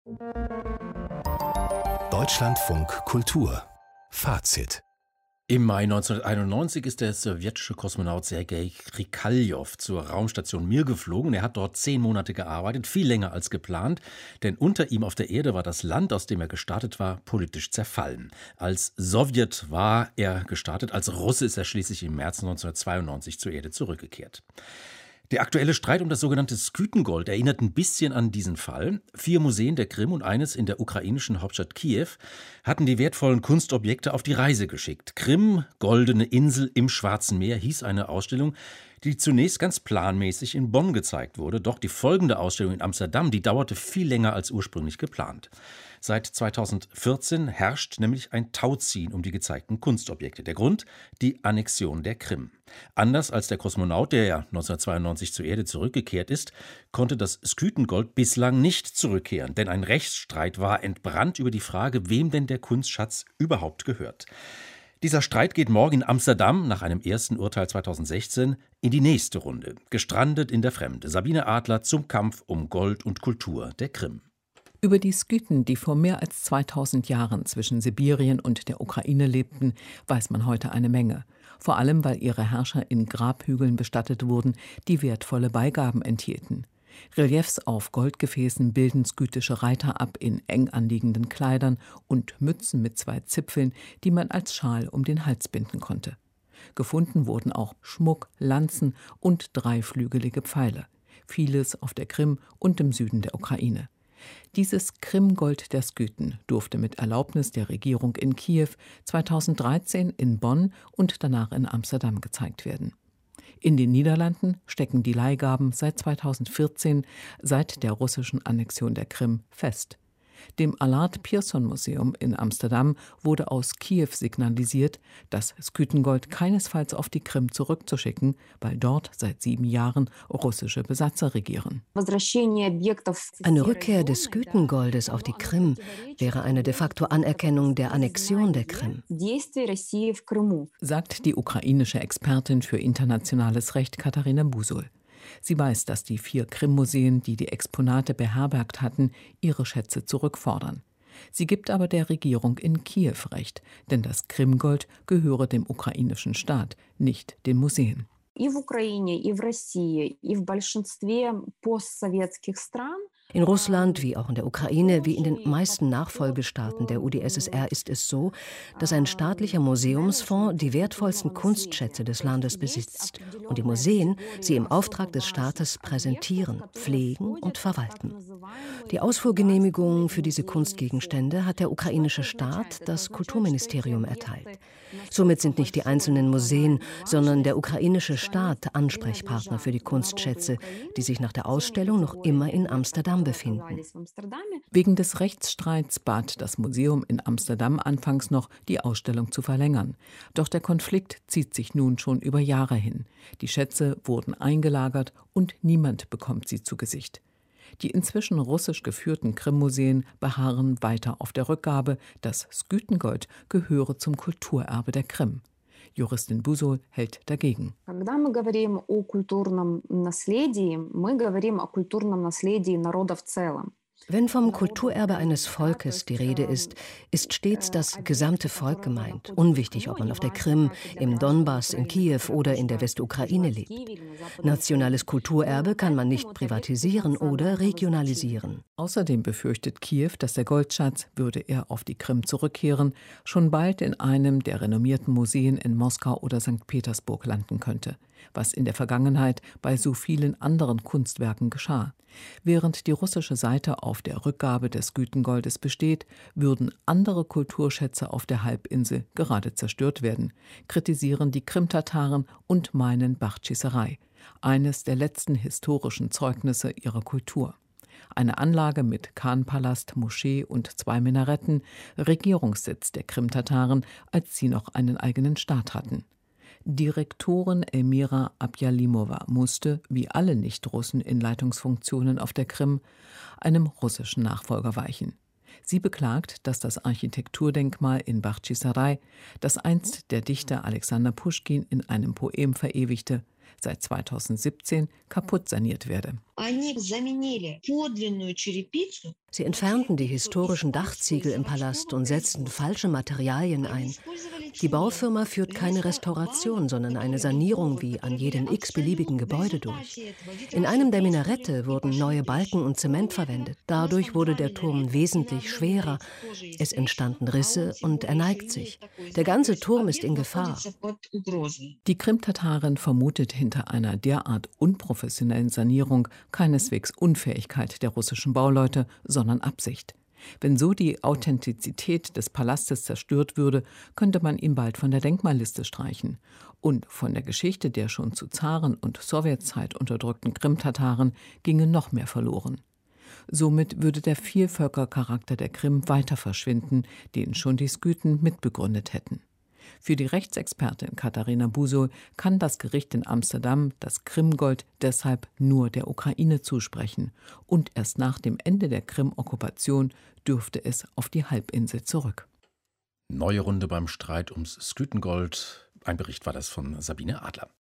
Deutschlandfunk Kultur Fazit. Im Mai 1991 ist der sowjetische Kosmonaut Sergei Krikaljow zur Raumstation Mir geflogen. Er hat dort 10 Monate gearbeitet, viel länger als geplant, denn unter ihm auf der Erde war das Land, aus dem er gestartet war, politisch zerfallen. Als Sowjet war er gestartet, als Russe ist er schließlich im März 1992 zur Erde zurückgekehrt. Der aktuelle Streit um das sogenannte Skythengold erinnert ein bisschen an diesen Fall. 4 Museen der Krim und eines in der ukrainischen Hauptstadt Kiew hatten die wertvollen Kunstobjekte auf die Reise geschickt. Krim, goldene Insel im Schwarzen Meer hieß eine Ausstellung, die zunächst ganz planmäßig in Bonn gezeigt wurde. Doch die folgende Ausstellung in Amsterdam, die dauerte viel länger als ursprünglich geplant. Seit 2014 herrscht nämlich ein Tauziehen um die gezeigten Kunstobjekte. Der Grund? Die Annexion der Krim. Anders als der Kosmonaut, der ja 1992 zur Erde zurückgekehrt ist, konnte das Skythengold bislang nicht zurückkehren. Denn ein Rechtsstreit war entbrannt über die Frage, wem denn der Kunstschatz überhaupt gehört. Dieser Streit geht morgen in Amsterdam, nach einem ersten Urteil 2016, in die nächste Runde. Gestrandet in der Fremde. Sabine Adler zum Kampf um Gold und Kultur der Krim. Über die Skythen, die vor mehr als 2000 Jahren zwischen Sibirien und der Ukraine lebten, weiß man heute eine Menge. Vor allem, weil ihre Herrscher in Grabhügeln bestattet wurden, die wertvolle Beigaben enthielten. Reliefs auf Goldgefäßen bilden skythische Reiter ab in eng anliegenden Kleidern und Mützen mit 2 Zipfeln, die man als Schal um den Hals binden konnte. Gefunden wurden auch Schmuck, Lanzen und 3-flügelige Pfeile. Vieles auf der Krim und im Süden der Ukraine. Dieses Krimgold der Skythen durfte mit Erlaubnis der Regierung in Kiew 2013 in Bonn und danach in Amsterdam gezeigt werden. In den Niederlanden stecken die Leihgaben seit 2014, seit der russischen Annexion der Krim, fest. Dem Allard Pierson Museum in Amsterdam wurde aus Kiew signalisiert, das Skythengold keinesfalls auf die Krim zurückzuschicken, weil dort seit 7 Jahren russische Besatzer regieren. Eine Rückkehr des Skythengoldes auf die Krim wäre eine de facto Anerkennung der Annexion der Krim, sagt die ukrainische Expertin für internationales Recht Katharina Busul. Sie weiß, dass die 4 Krim-Museen, die die Exponate beherbergt hatten, ihre Schätze zurückfordern. Sie gibt aber der Regierung in Kiew recht, denn das Krimgold gehöre dem ukrainischen Staat, nicht den Museen. In Russland, wie auch in der Ukraine, wie in den meisten Nachfolgestaaten der UdSSR ist es so, dass ein staatlicher Museumsfonds die wertvollsten Kunstschätze des Landes besitzt und die Museen sie im Auftrag des Staates präsentieren, pflegen und verwalten. Die Ausfuhrgenehmigung für diese Kunstgegenstände hat der ukrainische Staat das Kulturministerium erteilt. Somit sind nicht die einzelnen Museen, sondern der ukrainische Staat Ansprechpartner für die Kunstschätze, die sich nach der Ausstellung noch immer in Amsterdam befinden. Wegen des Rechtsstreits bat das Museum in Amsterdam anfangs noch, die Ausstellung zu verlängern. Doch der Konflikt zieht sich nun schon über Jahre hin. Die Schätze wurden eingelagert und niemand bekommt sie zu Gesicht. Die inzwischen russisch geführten Krim-Museen beharren weiter auf der Rückgabe, das Skythengold gehöre zum Kulturerbe der Krim. Juristin Busul hält dagegen. Wenn vom Kulturerbe eines Volkes die Rede ist, ist stets das gesamte Volk gemeint. Unwichtig, ob man auf der Krim, im Donbass, in Kiew oder in der Westukraine lebt. Nationales Kulturerbe kann man nicht privatisieren oder regionalisieren. Außerdem befürchtet Kiew, dass der Goldschatz, würde er auf die Krim zurückkehren, schon bald in einem der renommierten Museen in Moskau oder St. Petersburg landen könnte, was in der Vergangenheit bei so vielen anderen Kunstwerken geschah. Während die russische Seite auf der Rückgabe des Skythengoldes besteht, würden andere Kulturschätze auf der Halbinsel gerade zerstört werden, kritisieren die Krimtataren und meinen Bachtschisserei, eines der letzten historischen Zeugnisse ihrer Kultur. Eine Anlage mit Khanpalast, Moschee und 2 Minaretten, Regierungssitz der Krimtataren, als sie noch einen eigenen Staat hatten. Direktorin Elmira Abjalimova musste, wie alle Nicht-Russen in Leitungsfunktionen auf der Krim, einem russischen Nachfolger weichen. Sie beklagt, dass das Architekturdenkmal in Bachtschisserei, das einst der Dichter Alexander Puschkin in einem Poem verewigte, seit 2017 kaputt saniert werde. Sie entfernten die historischen Dachziegel im Palast und setzten falsche Materialien ein. Die Baufirma führt keine Restauration, sondern eine Sanierung wie an jedem x-beliebigen Gebäude durch. In einem der Minarette wurden neue Balken und Zement verwendet. Dadurch wurde der Turm wesentlich schwerer. Es entstanden Risse und er neigt sich. Der ganze Turm ist in Gefahr. Die Krimtatarin vermutet hinter einer derart unprofessionellen Sanierung keineswegs Unfähigkeit der russischen Bauleute, sondern Absicht. Wenn so die Authentizität des Palastes zerstört würde, könnte man ihn bald von der Denkmalliste streichen. Und von der Geschichte der schon zu Zaren- und Sowjetzeit unterdrückten Krimtataren ginge noch mehr verloren. Somit würde der Vielvölkercharakter der Krim weiter verschwinden, den schon die Skythen mitbegründet hätten. Für die Rechtsexpertin Katharina Busol kann das Gericht in Amsterdam das Krimgold deshalb nur der Ukraine zusprechen. Und erst nach dem Ende der Krim-Okkupation dürfte es auf die Halbinsel zurück. Neue Runde beim Streit ums Skythengold. Ein Bericht war das von Sabine Adler.